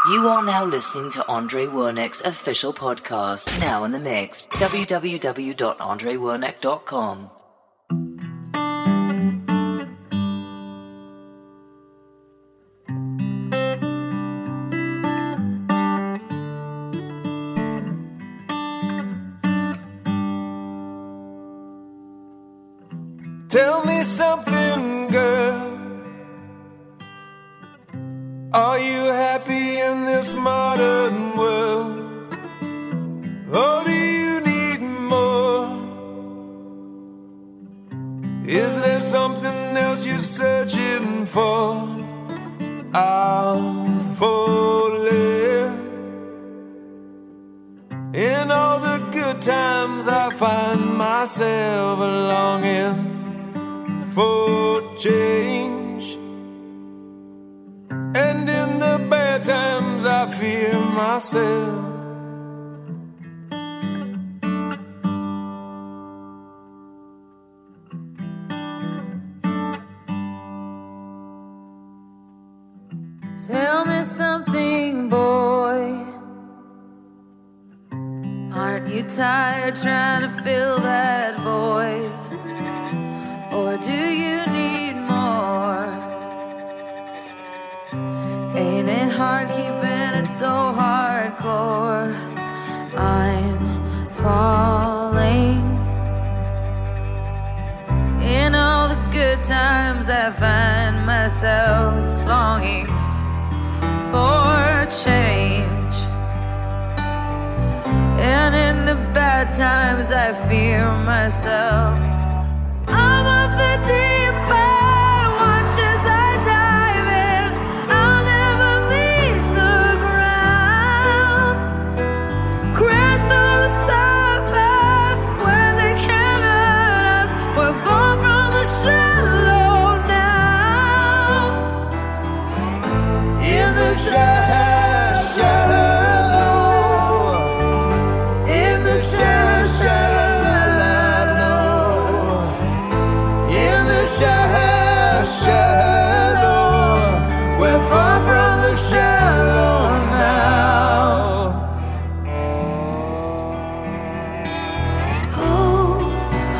You are now listening to Andre Wernick's official podcast, now in the mix. www.andrewernick.com. Tell me something, girl. Are you happy in this modern world? Or do you need more? Is there something else you're searching for? I'm falling. In all the good times I find myself longing for change, and in the bad times I fear myself. Tell me something, boy. Aren't you tired trying to fill that void? Or do you need more? Ain't it hard keeping it so hardcore? I'm falling. In all the good times I find myself longing for change, and in the bad times I fear myself. I'm of the deep end, watch as I dive in. I'll never meet the ground. Crash through the surface where they can't hurt us. We're far from the shallow now. In the shallow, in the shallow. Shallow, we're far from the shallow now. Oh, oh,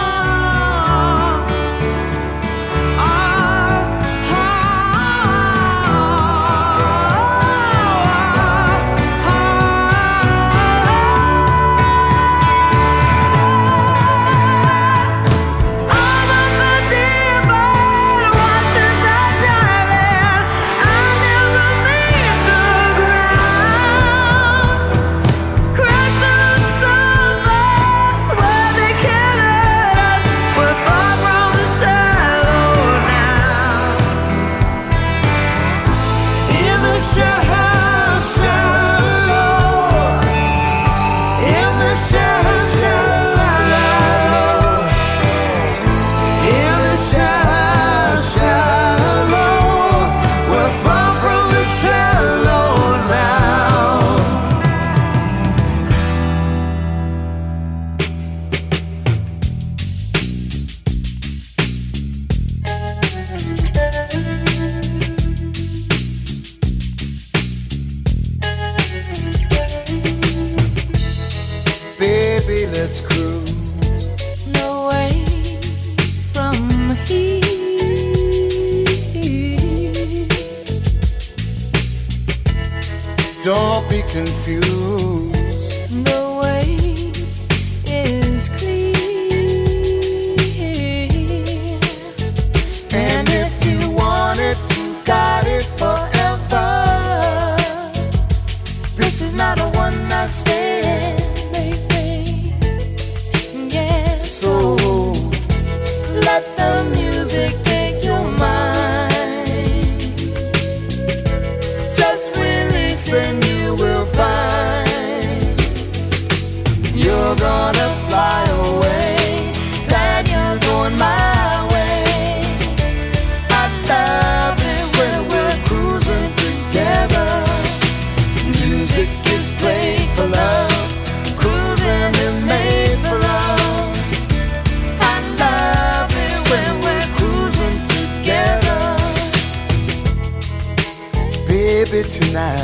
let's cruise. No way from here. Don't be confused. The way is clear. And if you want it, you got it forever. This is not a one-night stand. So let the music take your mind. Just release and you will find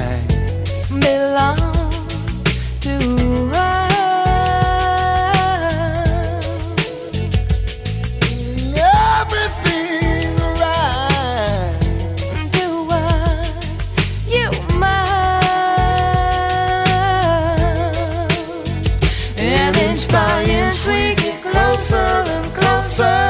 belong to her. Everything right. Do what you must, and inch by inch we get closer and closer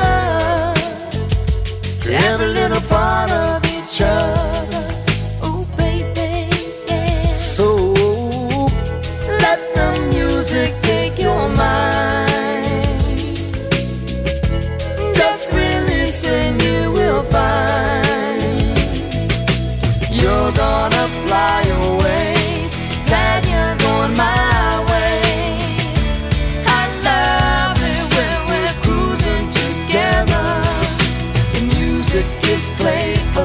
to every little part of each other. Oh baby, yeah. So Let the music take your mind. Just release and you will find you're gonna fly away. Glad you're going my way. I love it when we're cruising together. The music is played for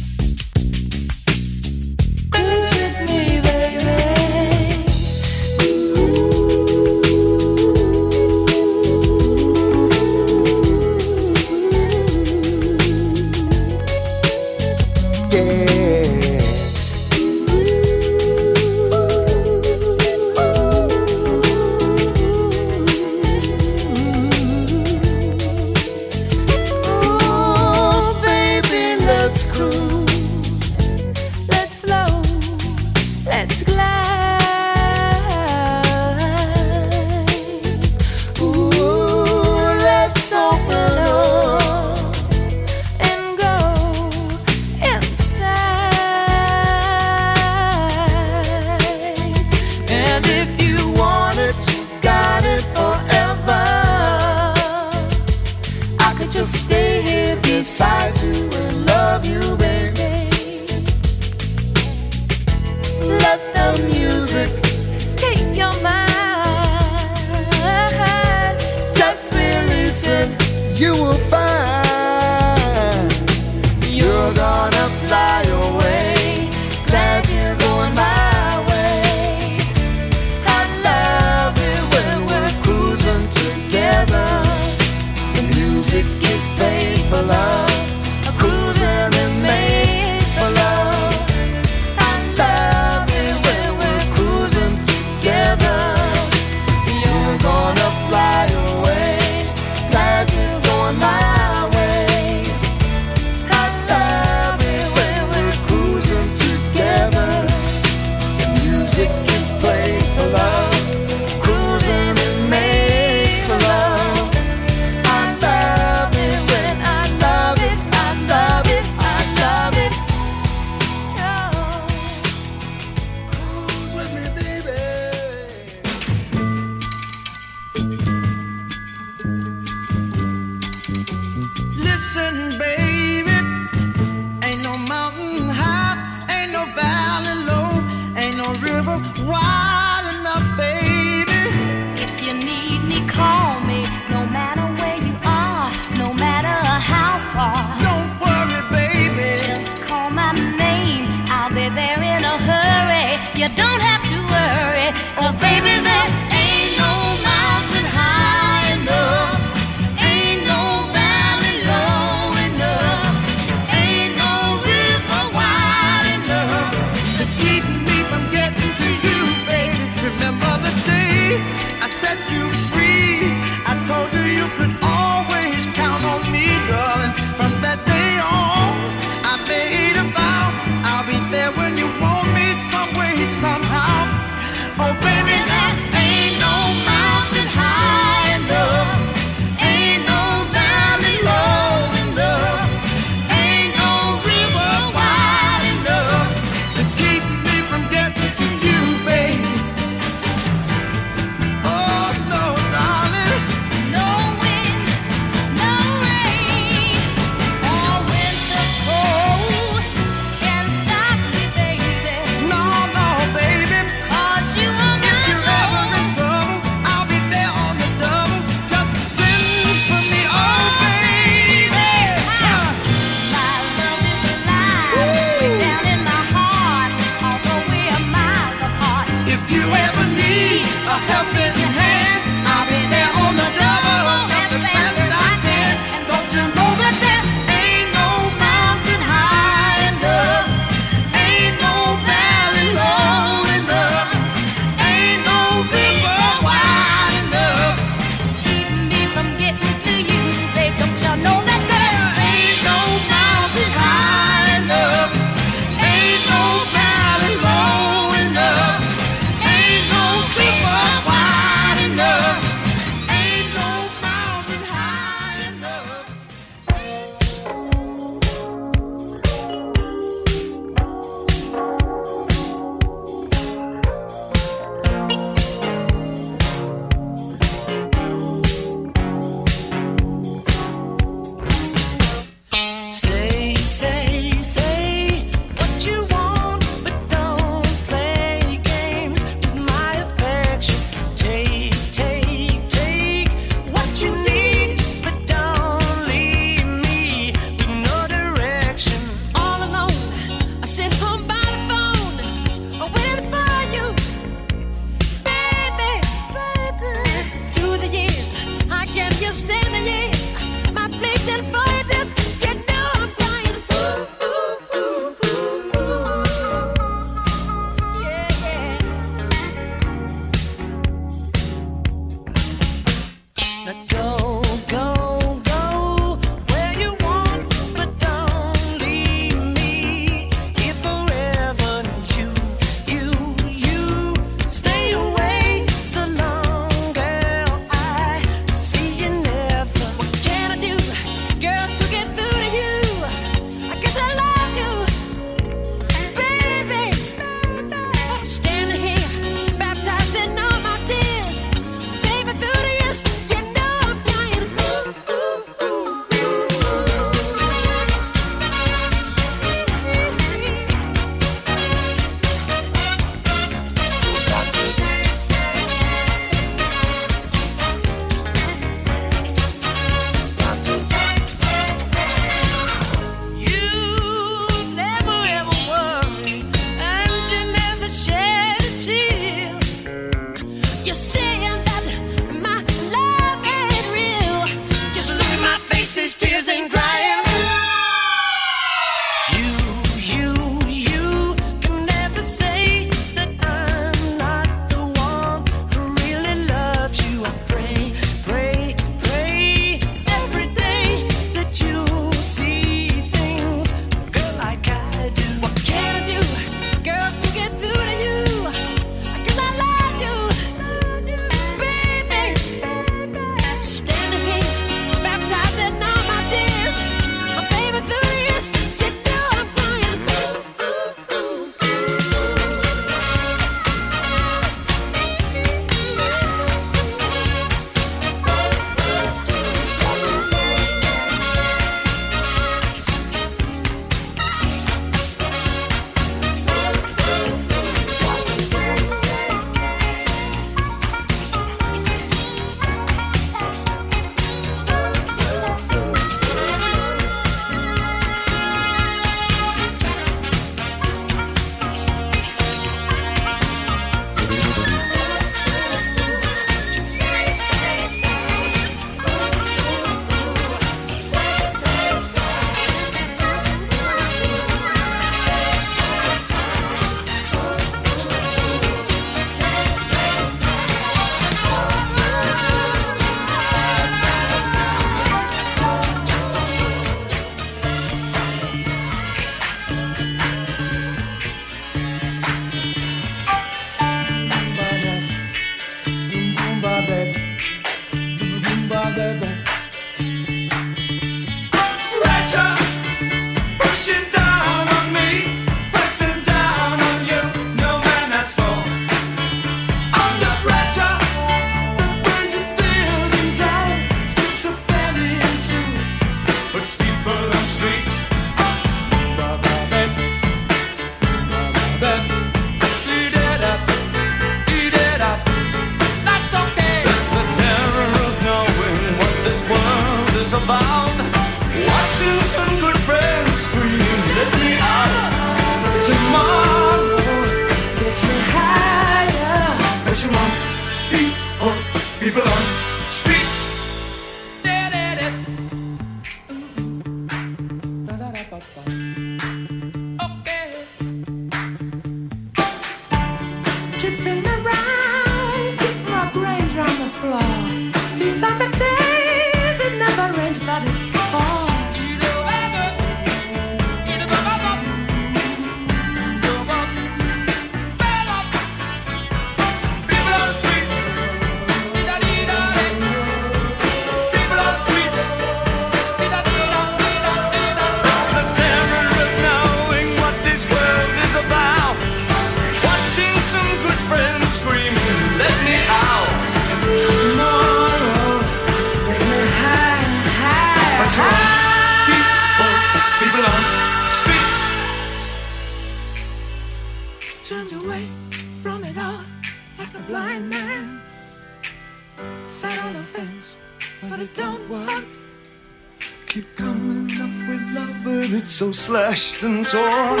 So slashed and torn.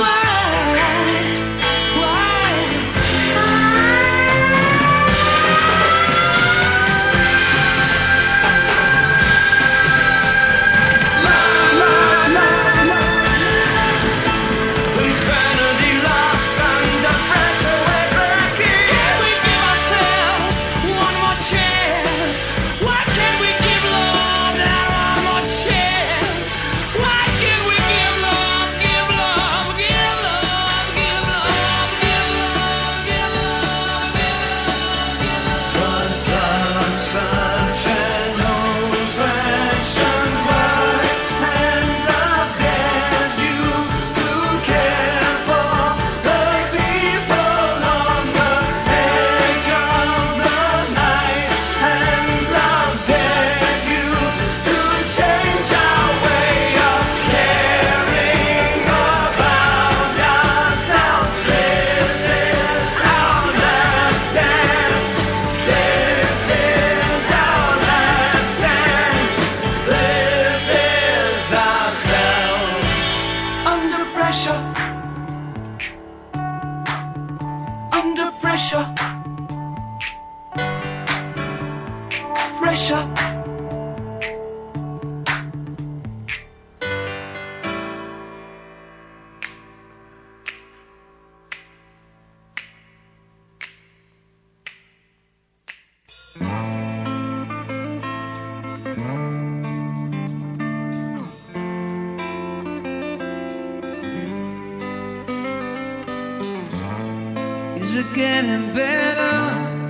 Give love. pressure. Is it getting better?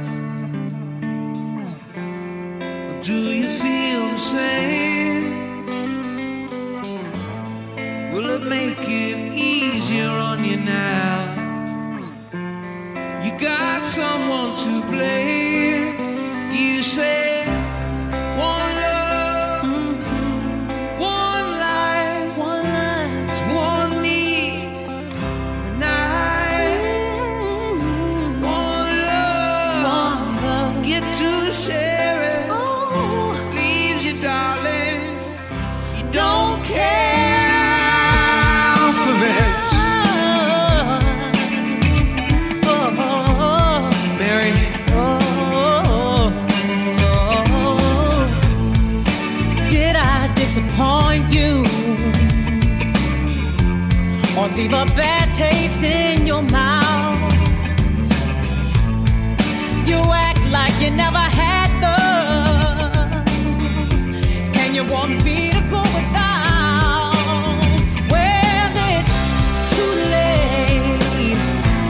Or do you feel the same? Will it make it easier on you now? You got someone to blame. You say one love, one life, it's one need, and one love, get to share it. Leaves you, darling, you don't care for it. Mary, Did I disappoint you or leave a bad taste in your mouth? You act like you never had love, and you want me to go without. Well, it's too late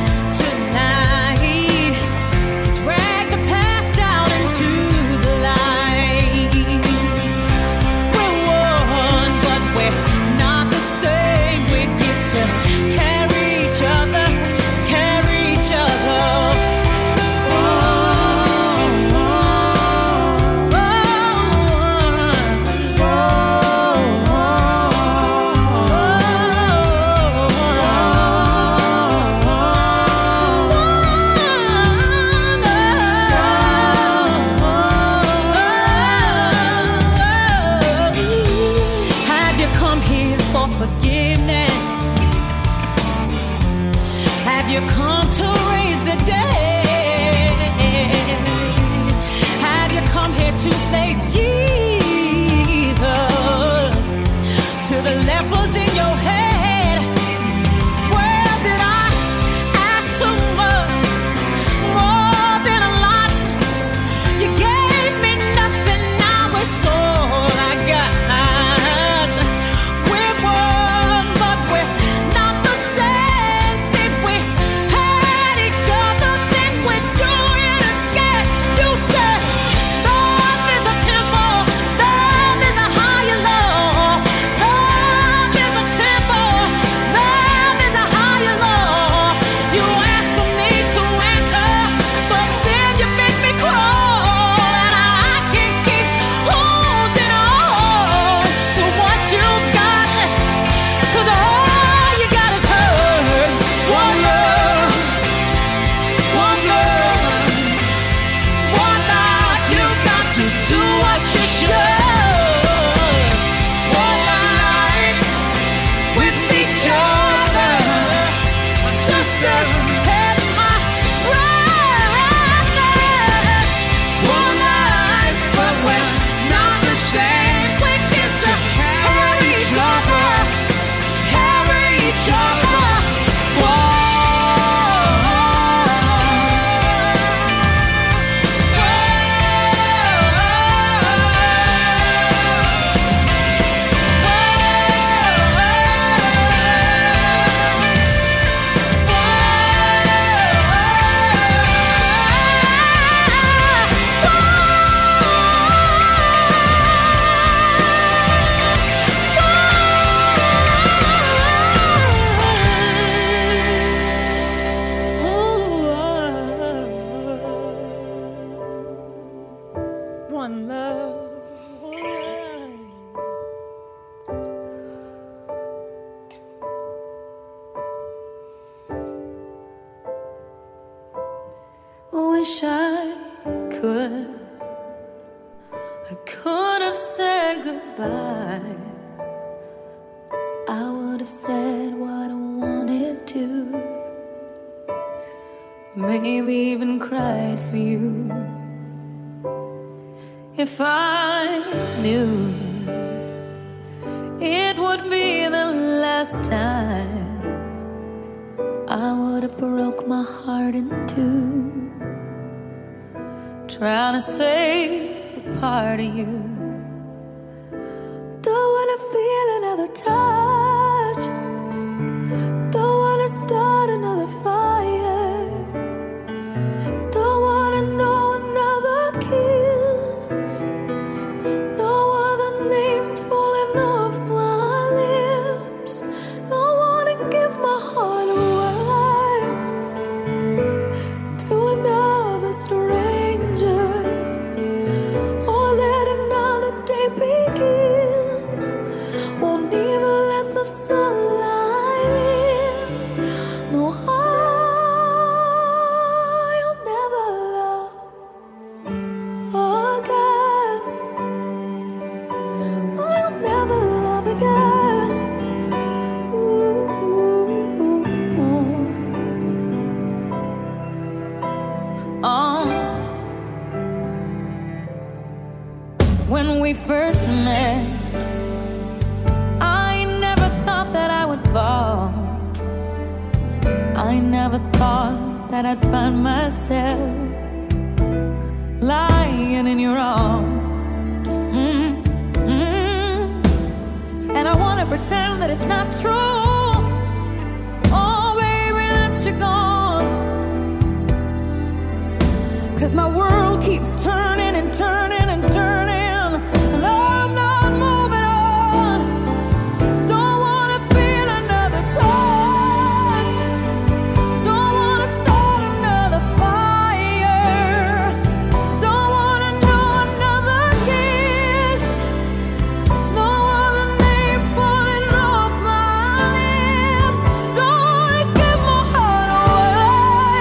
tonight to drag the past out into the light. We're one, but we're not the same. We get to carry each other, carry each other. Have you come here for forgiveness? Have you come to raise the dead? Have you come here to play Jesus to the lepers in your head? Well, did I ask too much? More than a lot. You gave me nothing, now it's all I got. We're one, but we're not the same. See, we had each other, then we do it again. You said love is a temple, love is a higher law. Love is a temple, love is a higher law. You asked for me to enter, but then you make me crawl, and I can't keep holding on to what you've got, 'cause all you got is hurt. One love, one love, one life. You got to do what you should. One life with each other, sisters and my brothers. One life, but we're not the same. We get to carry each other, carry each other. One love. Wish I could have said goodbye. I would have said what I wanted to. Maybe even cried for you. If I knew it would be the last time, I would have broke my heart in two, trying to save a part of you. Don't wanna feel another touch, don't wanna start another fire, don't wanna know another kiss, no other name falling off my lips. Don't wanna give my heart away to another stranger, or let another day begin. Won't even let the sunlight in. No, I'll never love again. I'll never love again. When we first met, I never thought that I would fall. I never thought that I'd find myself lying in your arms. And I wanna pretend that it's not true. Oh, baby, that you're gone. 'Cause my world keeps turning and turning and turning, and I'm not moving on. Don't wanna feel another touch, don't wanna start another fire, don't wanna know another kiss, no other name falling off my lips. Don't wanna give my heart away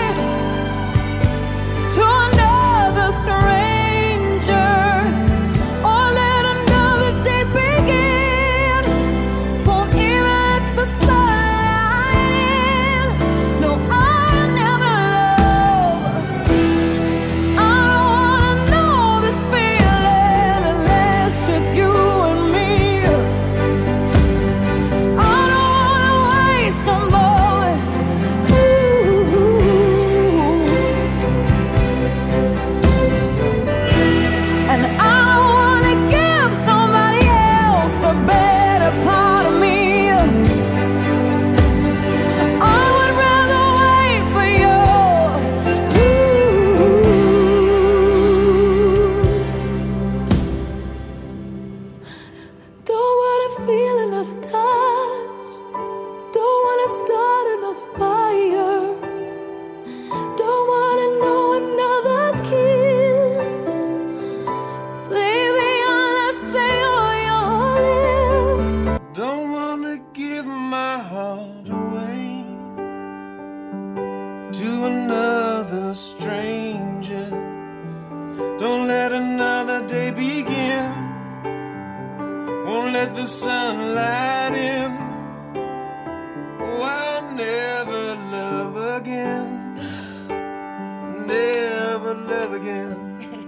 to another stranger, or let another day begin. Won't even let the sunlight in. No, I'll never love. I don't wanna know this feeling unless it's you and me. I don't wanna waste a moment. And I don't wanna give somebody else the better part of me. I would rather wait for you. Don't wanna feel another touch, don't wanna start another fire, don't wanna know another kiss, baby, unless they are your lips. Don't wanna give my heart away to another stranger. Don't let another day begin. Won't let the sunlight in. Oh, I'll never love again. Never love again.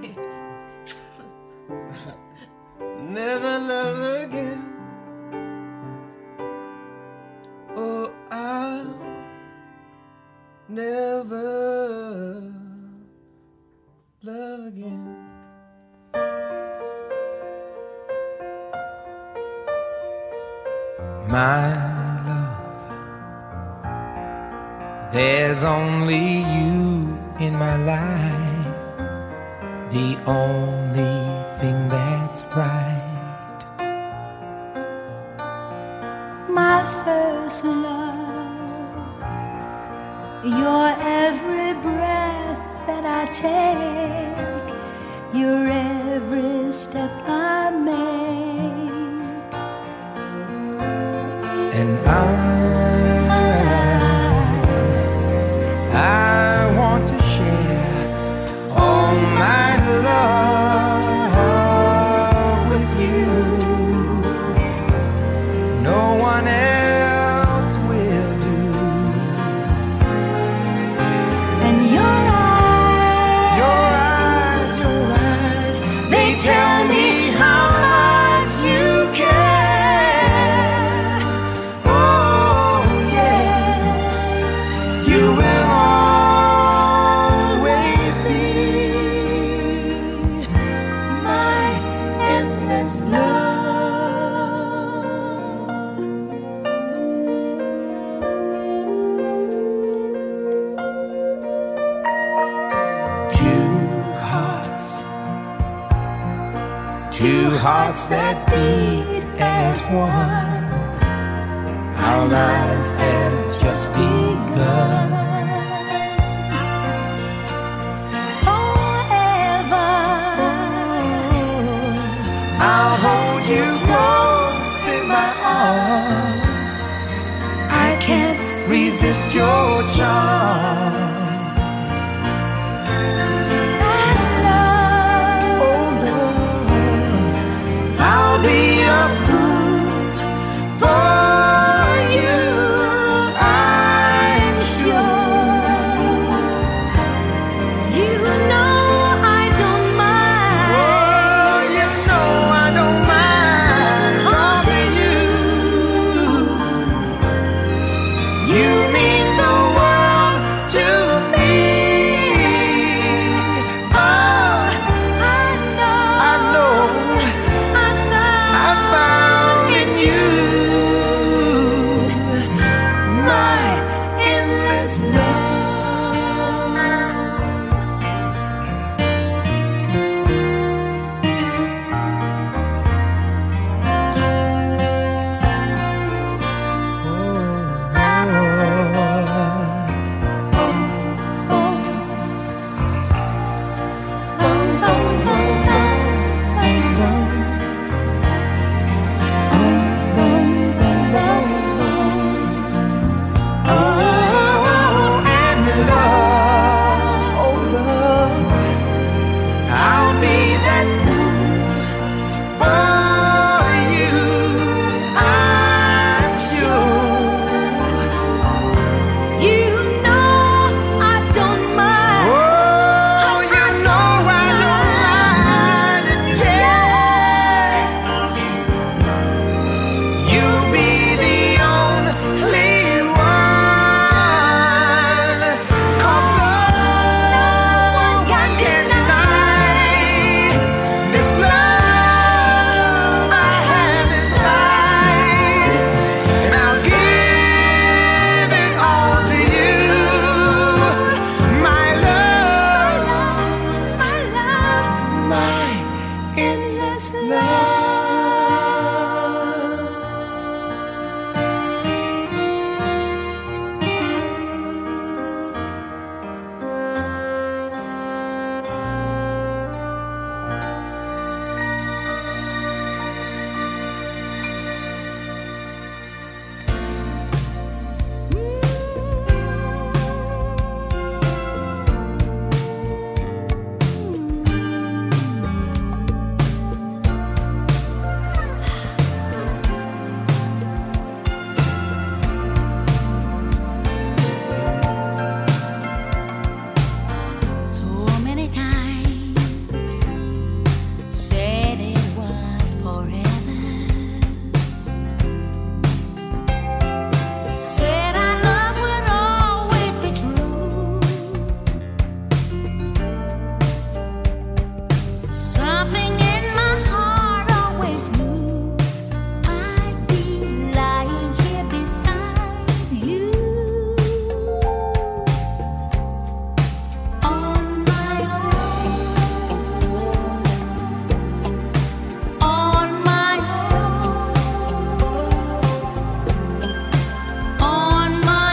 Never love again. Oh, I'll never love again. My love, there's only you in my life, the only thing that's right. My first love, your every breath that I take, your every step I make. And I want to share all my love with you. No one else will do. And your eyes, they tell two hearts that beat as one. Our lives have just begun. Forever, I'll hold you close in my arms. I can't resist your charms. I'll be a fool for you, I'm sure. you know I don't mind. Oh, you know I don't mind. 'Cause you mean the world to me. Oh, I know I found in you my endless love. I'll be that fool for you, I'm sure. you know I don't mind. Oh, you know I don't mind, and yes, you'll be the only one. 'Cause no one can deny this love I have inside, and I'll give it all to you, my love, my endless love. So many times said it was forever. Said our love would always be true. Something in my heart always knew I'd be lying here beside you. On my own, on my own, on my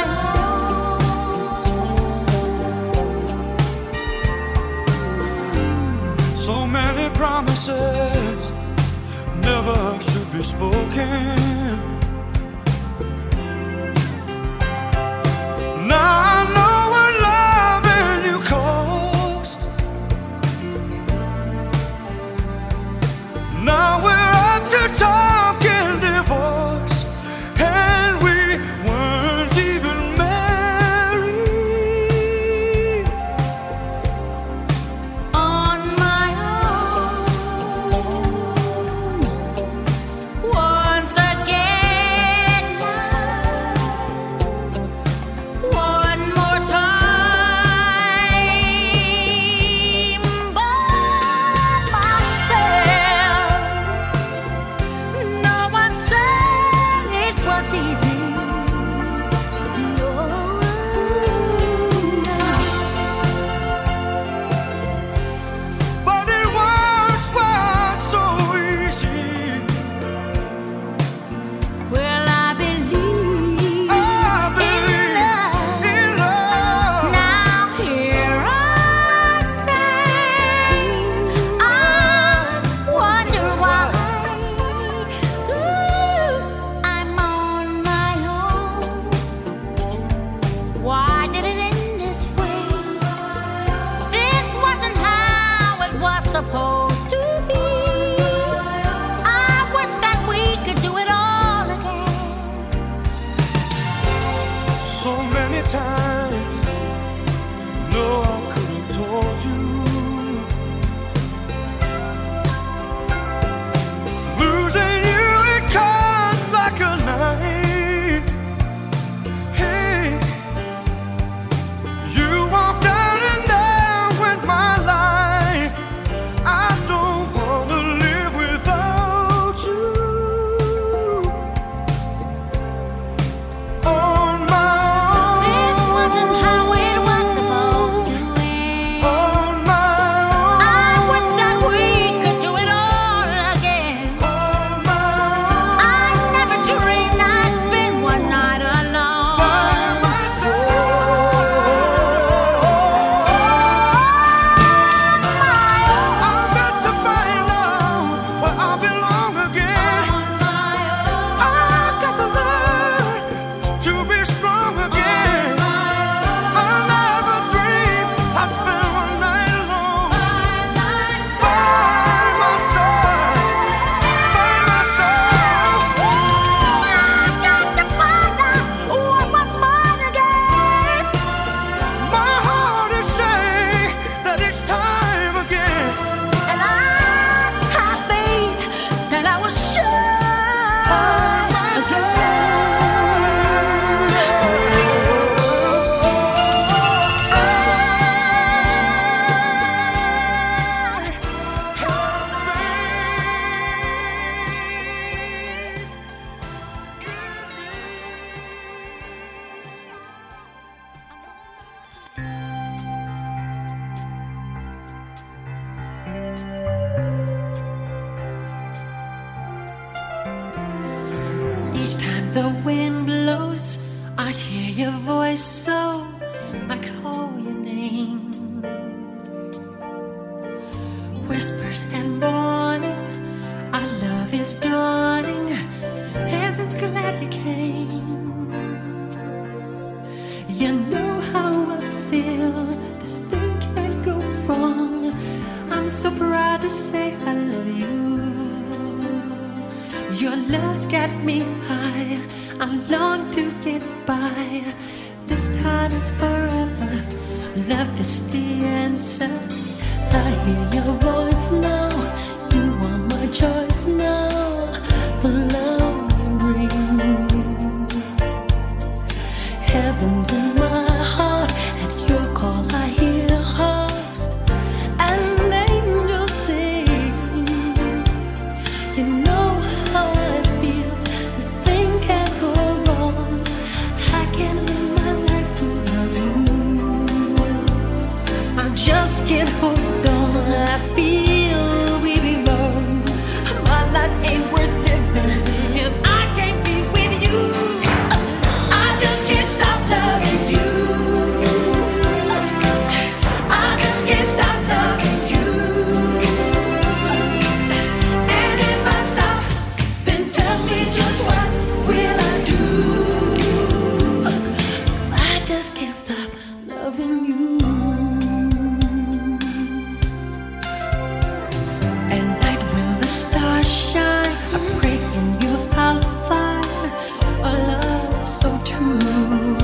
own. So many promises never should be spoken. Now I know what loving you cost. Now we're up to talking divorce, and we weren't even married. On my own, once I Each time the wind blows, I hear your voice, so I call your name. Whispers and warning, our love is dawning. Heaven's glad you came. You know how I feel. This thing can't go wrong. I'm so proud to say I love you. Your love's got me high. I long to get by. This time is forever. Love is the answer. I hear your voice now. You are my choice now. The love you bring. Heaven's in my heart. At your call I hear harps and angels sing. You know how I feel. This thing can't go wrong. I can't live my life without you. I just can't hold on. I feel we belong. My life ain't worth living if I can't be with you. I just can't stop loving you. I just can't stop loving you. And if I stop, then tell me just what will I do? 'Cause I just can't stop loving you. At night when the stars shine, I pray in you I'll find a love so true.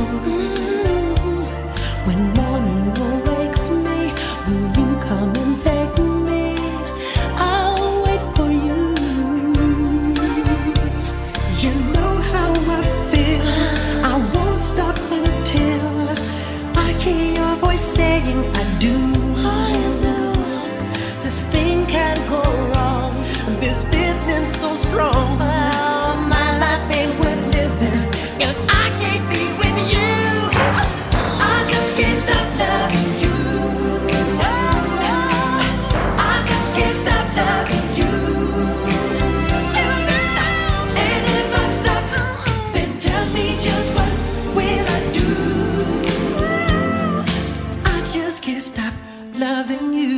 When morning awakes me, will you come and take me? I'll wait for you. You know how I feel. I won't stop until I hear your voice saying I do. This thing can't go wrong. This feeling so strong. Oh, my life ain't worth living if I can't be with you. I just can't stop loving you. I just can't stop loving you. And if I stop, then tell me just what will I do? I just can't stop loving you.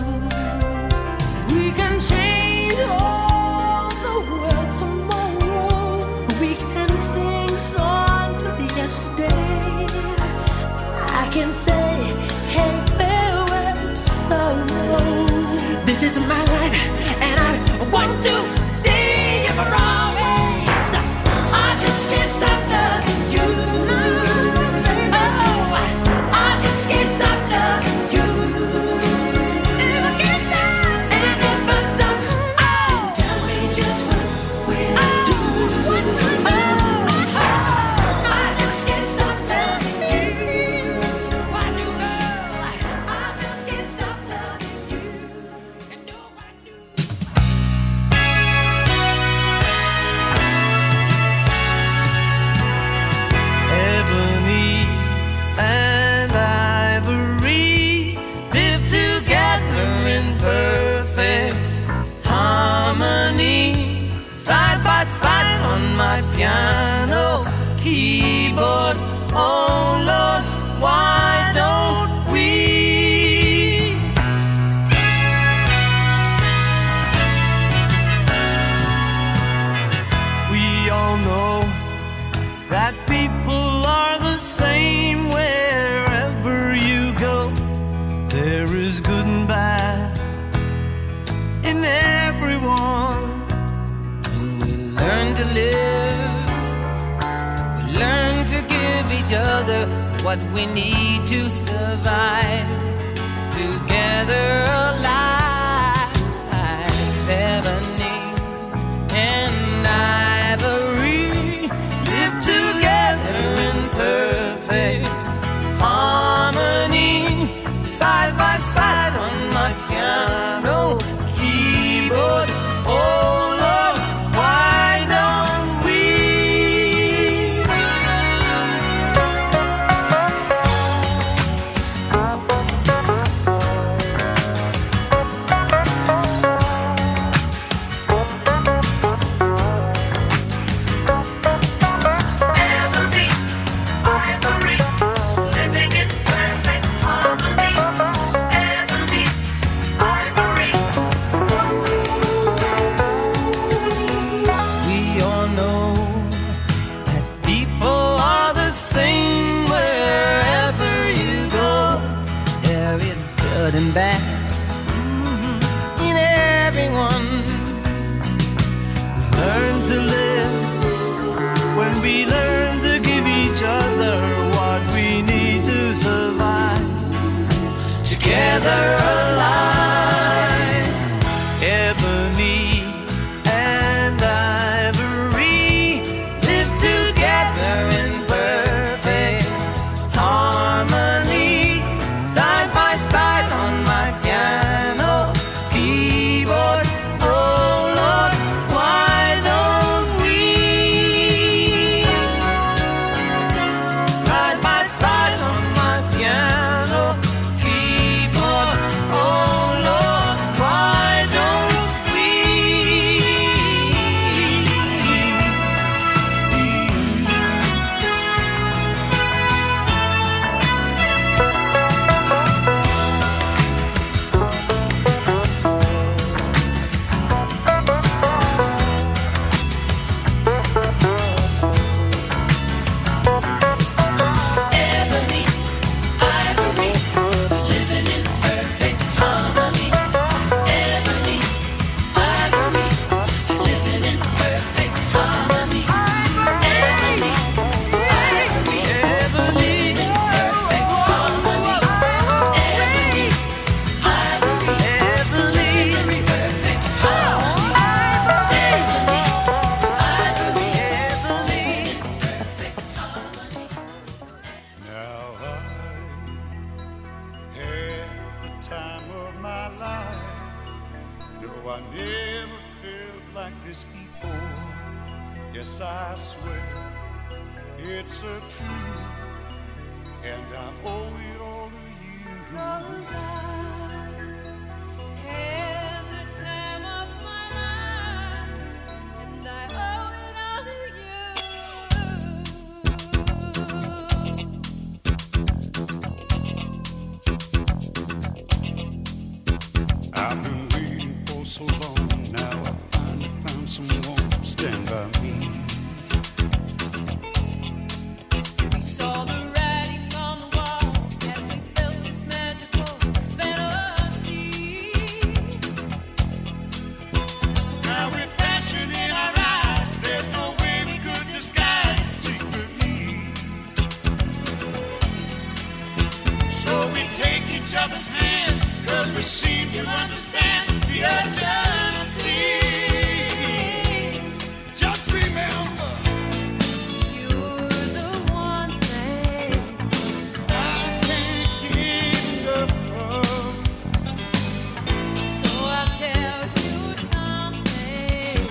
We can change all the world tomorrow. We can sing songs of yesterday. I can say, hey, farewell to sorrow. This is my life, and I want to stay here for always. I just can't stop loving you. Oh, I just can't stop loving you. If I can't stop, and if I stop, oh, tell me just what will I do? Oh, I just can't stop loving you. I do know. I just can't stop loving you. And no, I do. Ebony and ivory live together in perfect harmony, side by side on my piano keyboard. Oh Lord, why don't we? We all know that people are the same wherever you go. There is good and bad in everyone. And we learn to live, we learn to give each other what we need to survive. Together alive, ebony and ivory live together in perfect harmony, side by side on my piano keyboard. Oh Lord, why don't we? together alive. Ebony and ivory live together in perfect harmony, side by side on my piano keyboard. Oh Lord, why don't we side by side on my piano keyboard? Oh Lord, why don't we? Ebony, ivory, living in perfect harmony. Ebony, ivory, living in perfect harmony. Ebony, ivory, living in perfect harmony. Ebony, ivory, living in perfect harmony. Ebony, ivory, living in perfect harmony. Now I had the time of my life. No, I never felt like this before. Yes, I swear it's a truth, and I owe it all to you. 'Cause I had the time of my life, and I owe it all to you. I've been waiting for so long. Now I finally found someone to stand by me. We saw the writing on the wall as we felt this magical fantasy. Now with passion in our eyes, there's no way we could disguise it secretly. So we take each other's hand, 'cause we seem to understand the urgency. Just remember, You're the one thing I can't get enough of. so I'll tell you something.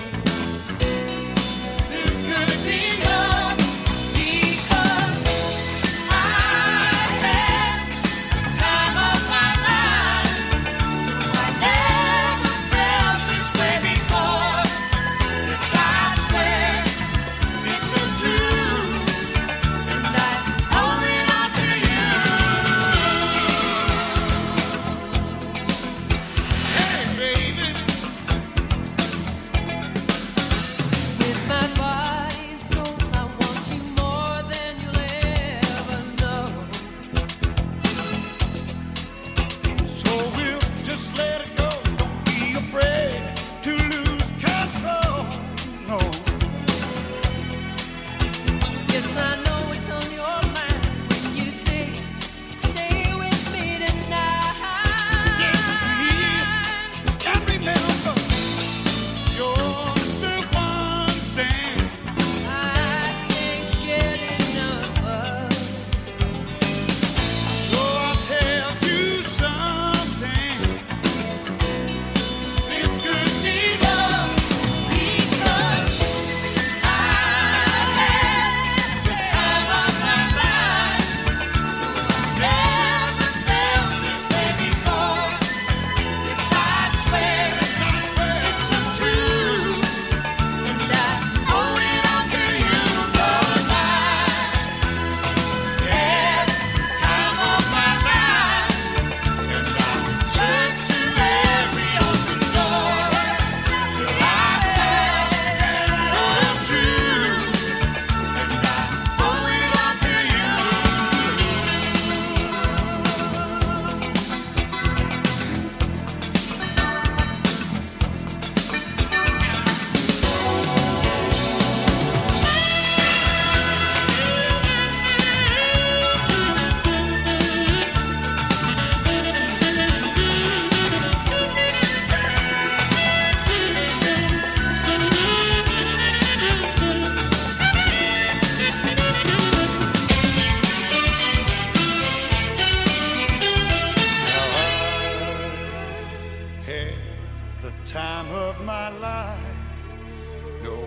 This could be love, Because I had the time of my life. I never felt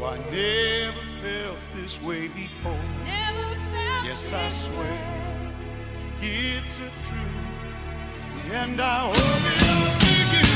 No, I never felt this way before. Yes, I swear it's a truth, and I hope it'll take you.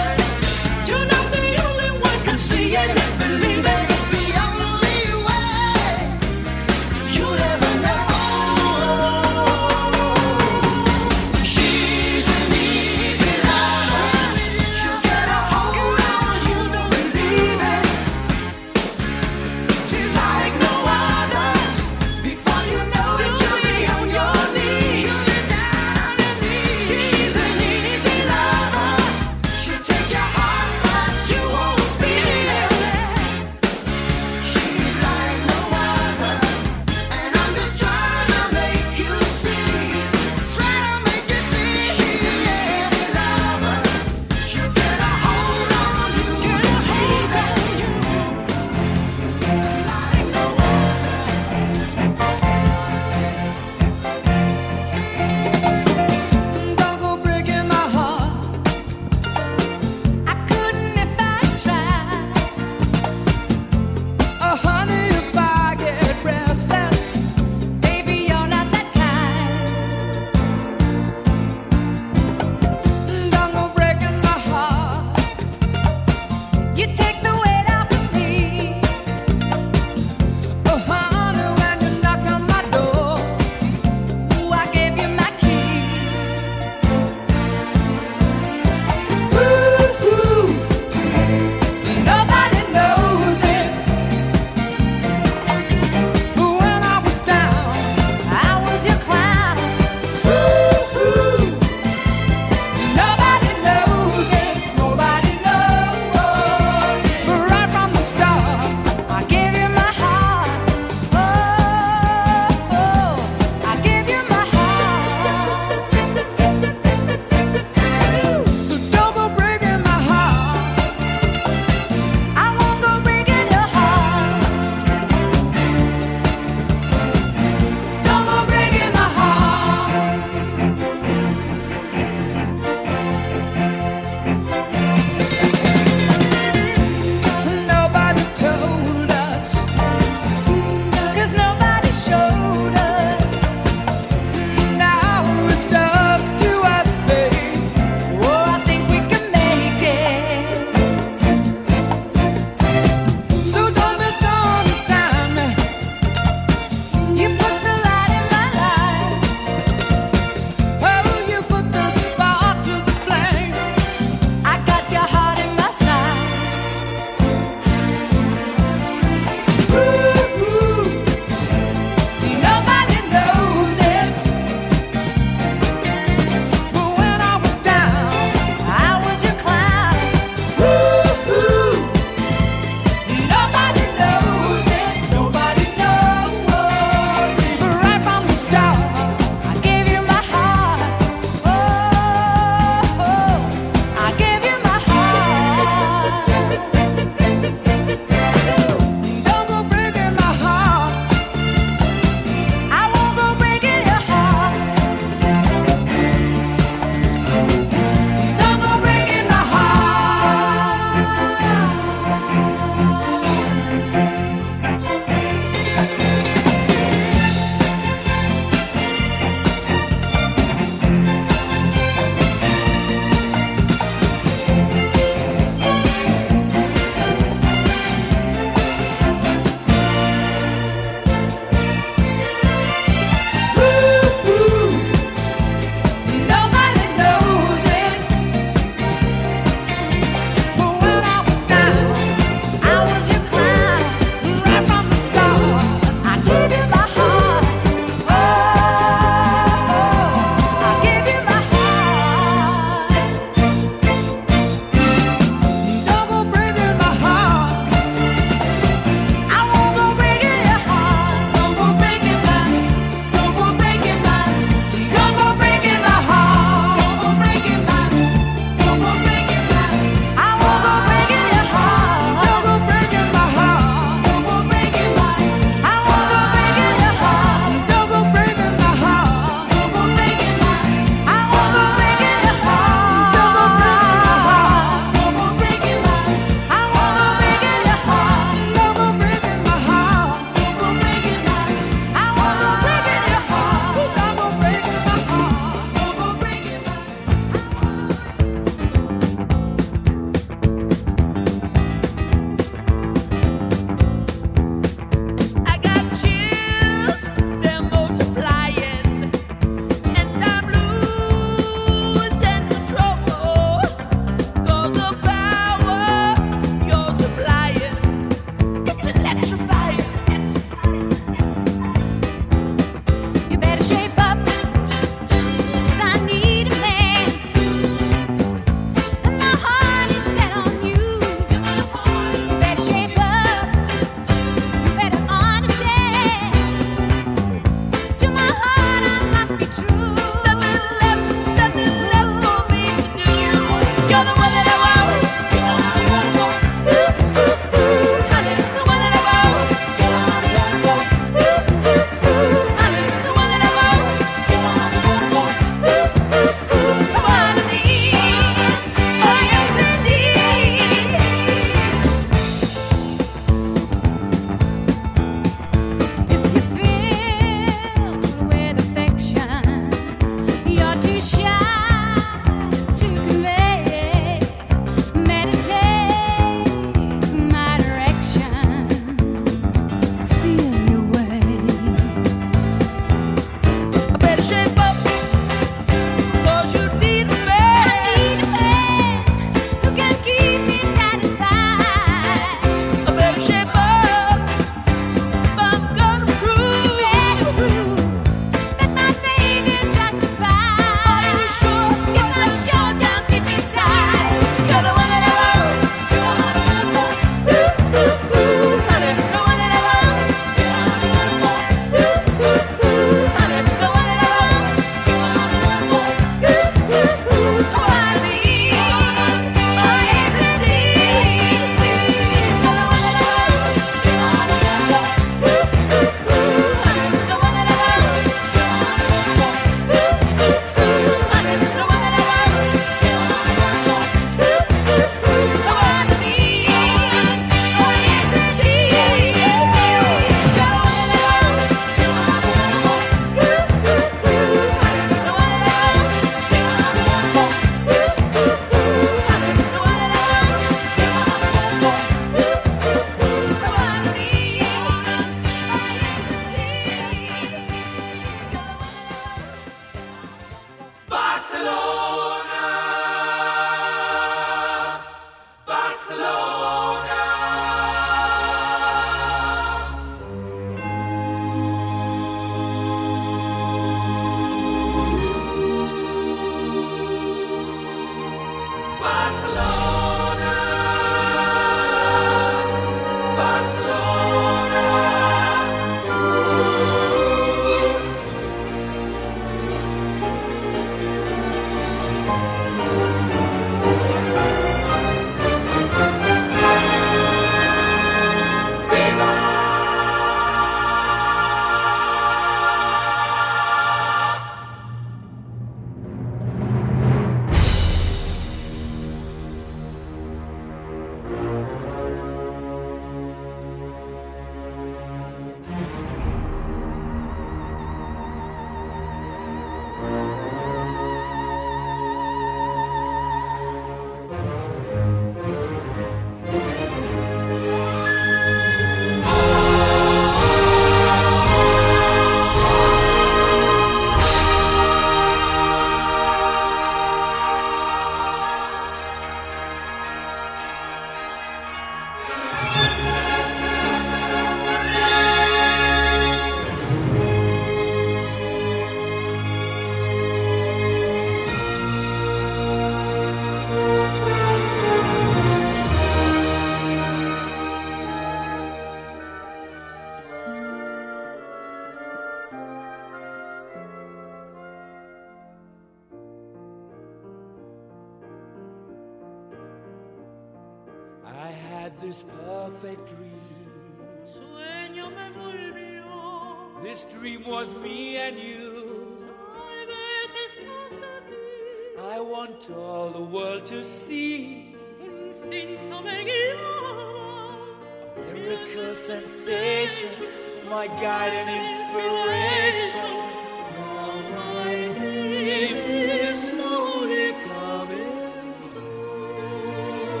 this perfect dream. Sueño me volvió. This dream was me and you. Tal vez estás aquí. I want all the world to see. Un instinto me guiaba. A miracle sensation, my guide and inspiration. Now my dream is slowly coming true.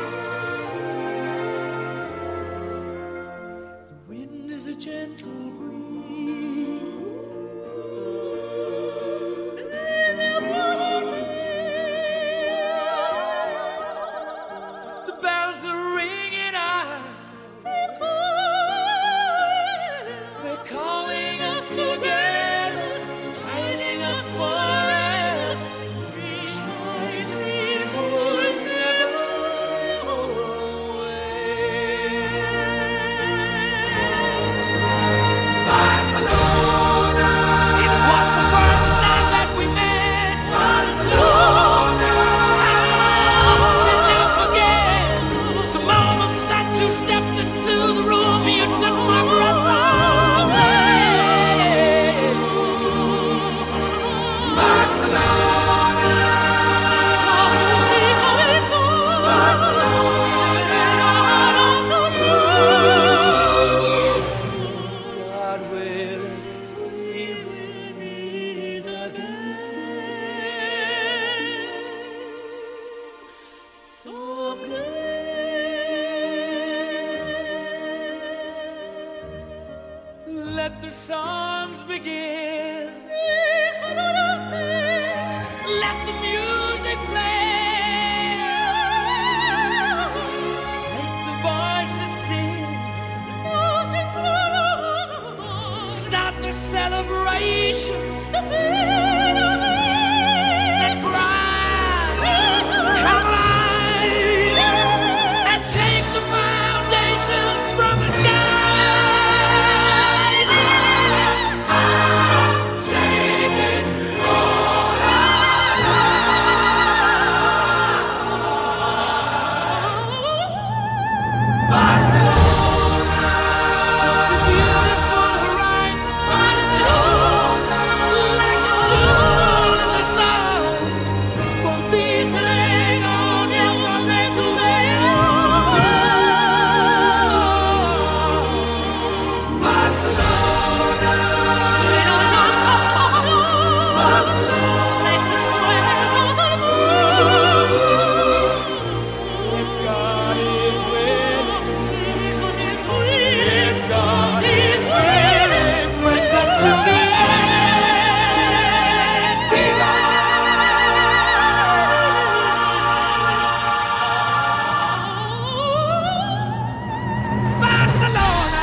The wind is a gentle breeze. The bells are ringing out. They're calling us together, guiding us forever. Wish my dream would never go away. Barcelona. It was the first time that we met. Barcelona. How can I forget the moment that you stepped into the room? You took my breath away. Barcelona. Barcelona. God willing, we will meet again someday. Let the songs begin. Let the music play. Let the voices sing. Start the celebrations. And cry. Come alive. And shake the foundations from the sky. Such a beautiful horizon. Barcelona, like a jewel in the sun. Por ti seré gobierno de tu Barcelona. Barcelona. If God is willing, if God is willing, let's up to the end. Viva! Barcelona!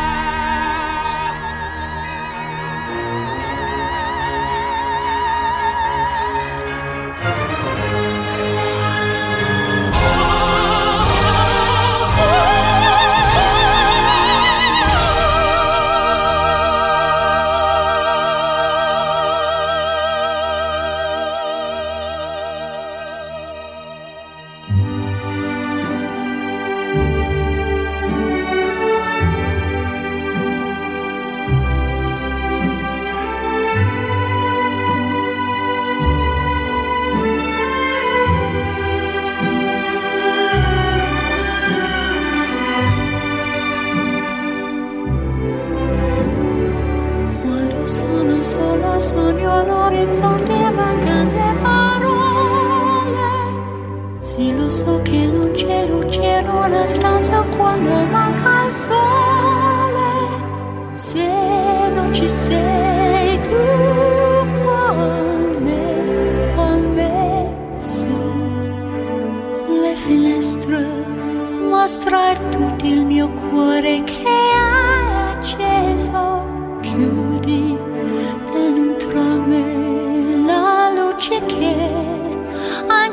Quando sono sola sogno l'orizzonte e mancano le parole. Sì, lo so che non c'è luce in una stanza quando manca il sole. Se non ci sei tu con me su le finestre mostra tutto il mio cuore che è acceso. Chiudi dentro me la luce che ho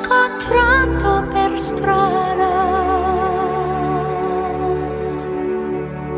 incontrato per strada.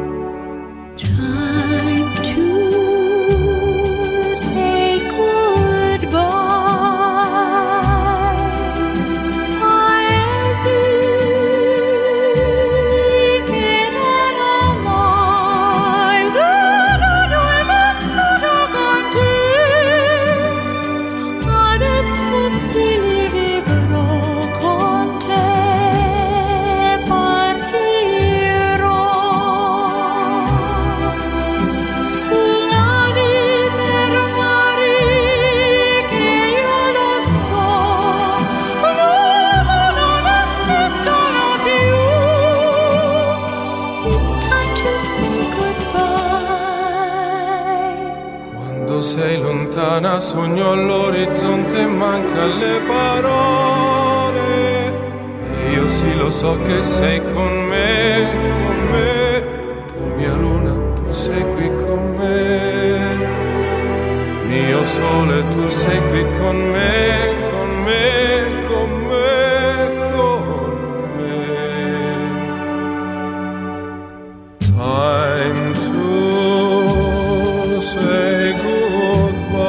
lontana, sogno all'orizzonte, manca le parole. E io sì lo so che sei con me, tu mia luna, tu sei qui con me, mio sole, tu sei qui con me, con me, con me, con me. Time to say goodbye.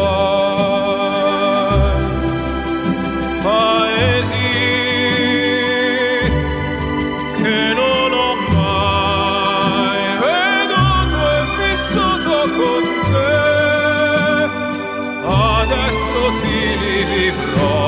Paesi che non ho mai veduto e vissuto con te, adesso sì li vivrò.